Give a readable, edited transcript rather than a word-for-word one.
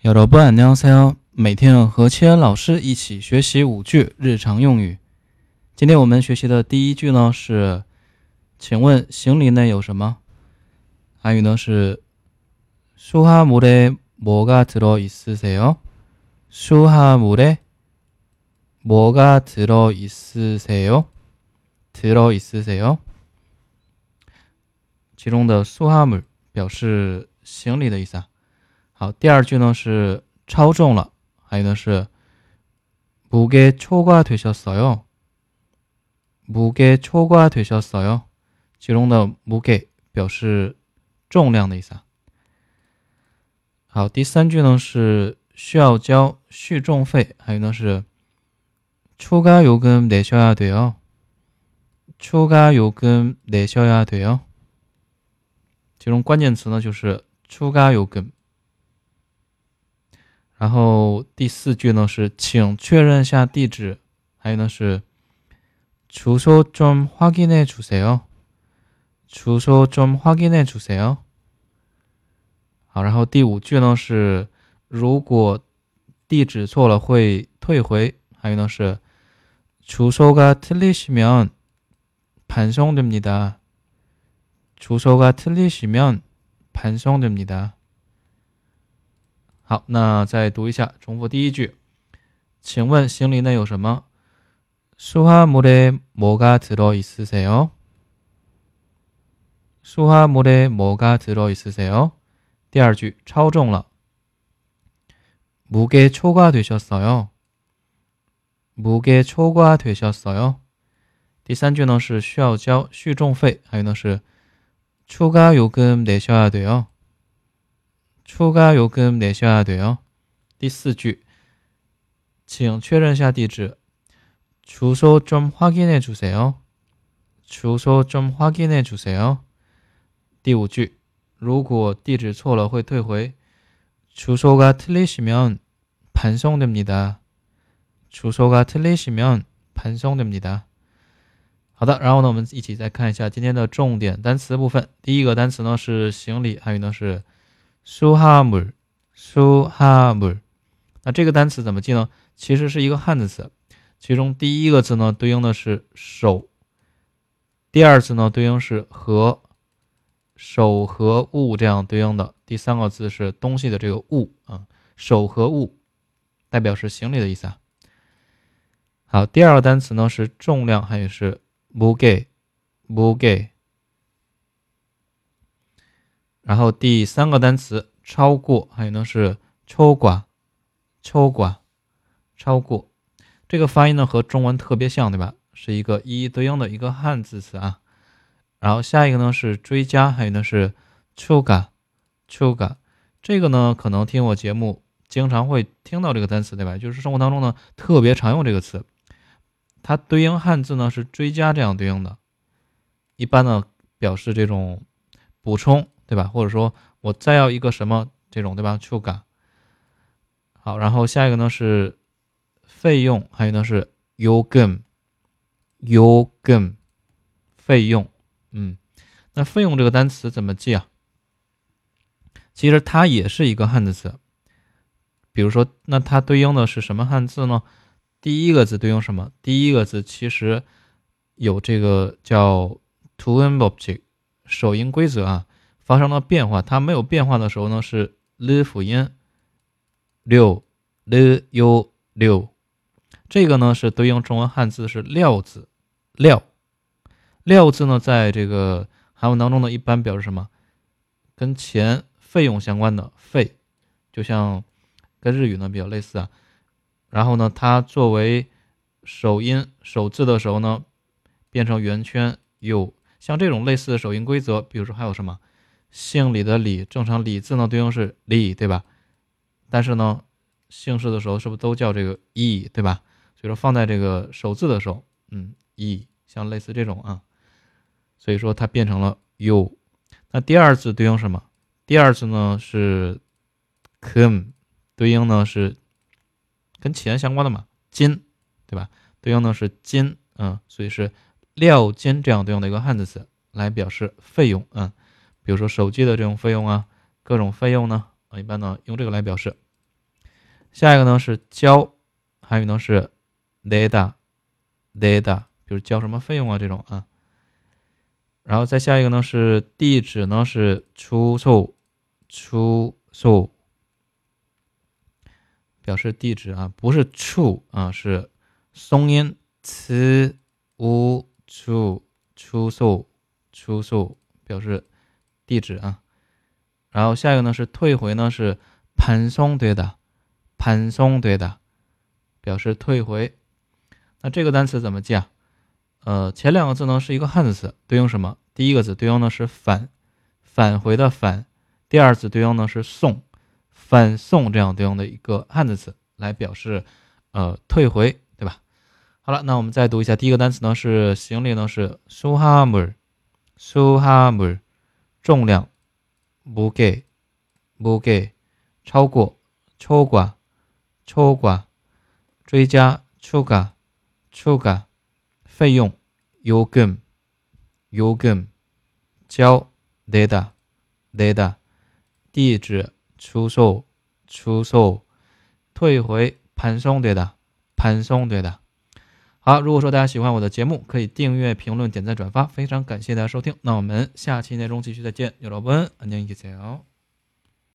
여러분 안녕하세요。每天和千恩老师一起学习5句日常用语。今天我们学习的第一句呢是，请问行李内有什么？韩语呢是수화물에 뭐가 들어 있으세요? 수화물에 뭐가 들어 있으세요? 들어 있으세요? 其中的수화물表示行李的意思啊。好，第二句呢是超重了，还有呢是무게 초과되셨어요。무게 초과되셨어요。其中的무게表示重量的意思啊。好，第三句呢是需要交续重费，还有呢是추가요금 내셔야 돼요。추가요금 내셔야 돼요。其中关键词呢就是추가요금。然后第四句呢是请确认下地址，还有呢是주소 좀 확인해 주세요。주소 좀 확인해 주세요。好，然后第五句呢是如果地址错了会退回，还有呢是주소가 틀리시면 반송됩니다。주소가 틀리시면 반송됩니다。好，那再读一下，重复第一句，请问行李内有什么？수화물에 뭐가 들어 있으세요? 수화물에 뭐가 들어 있으세요? 第二句，超重了。무게 초과되셨어요. 무게 초과되셨어요. 第三句呢是需要交续重费，还有呢是추가요금 내셔야 돼요. 추가요금 내셔야 돼요. 第四句，请确认下地址。주소 좀 확인해 주세요. 주소 좀 확인해 주세요. 第五句，如果地址错了会退回。주소가 틀리시면 반송됩니다. 주소가 틀리시면 반송됩니다. 好的，然后呢我们一起再看一下今天的重点单词部分。第一个单词呢是行李，还有呢是수화물。수화물。那这个单词怎么记呢？其实是一个汉字词，其中第一个字呢对应的是手，第二字呢对应是和，手和物这样对应的，第三个字是东西的这个物啊，手和物代表是行李的意思啊。好，第二个单词呢是重量，还有是무게。然后第三个单词超过，还有呢是초과。超过，这个发音呢和中文特别像，对吧？是一个一一对应的一个汉字词啊。然后下一个呢是追加，还有呢是추가。这个呢可能听我节目经常会听到这个单词，对吧？就是生活当中呢特别常用这个词，它对应汉字呢是追加这样对应的，一般呢表示这种补充，对吧？或者说我再要一个什么这种，对吧？추가。好，然后下一个呢是费用，还有呢是요금。费用。那费用这个单词怎么记啊？其实它也是一个汉字词。比如说，那它对应的是什么汉字呢？第一个字对应什么？第一个字其实有这个叫투음법칙首音规则啊，发生了变化。它没有变化的时候呢是了辅音六。这个呢是对应中文汉字是料字。料字呢在这个韩文当中呢一般表示什么？跟钱费用相关的费，就像跟日语呢比较类似啊。然后呢它作为首音首字的时候呢变成圆圈有，像这种类似的首音规则，比如说还有什么姓李的李，正常李字呢对应是李，对吧？但是呢姓氏的时候是不是都叫这个义，对吧？所以说放在这个首字的时候义，像类似这种啊，所以说它变成了有。那第二字对应什么？第二字呢是금，对应呢是跟钱相关的嘛，金，对吧？对应呢是金，所以是料金这样对应的一个汉字词来表示费用。比如说手机的这种费用啊，各种费用呢，一般呢用这个来表示。 下一个呢是交，还有呢是 내다， 比如交什么费用啊这种啊。然后再下一个呢是地址呢是주소，表示地址啊，不是处啊，是松音词无处주소表示地址啊。然后下一个呢是退回呢是반송되다，表示退回。那这个单词怎么记啊？前两个字呢是一个汉字词，对应什么？第一个字对应的是返回的返，第二字对应的是送，返送这样对应的一个汉字词来表示退回，对吧？好了，那我们再读一下第一个单词呢是行李呢是수화물，重量무게，超过초과，追加추가，费用요금，交내다， 地址주소，退回반송되다。好，如果说大家喜欢我的节目，可以订阅、评论、点赞、转发，非常感谢大家收听。那我们下期内容继续再见，여러분 안녕히 계세요。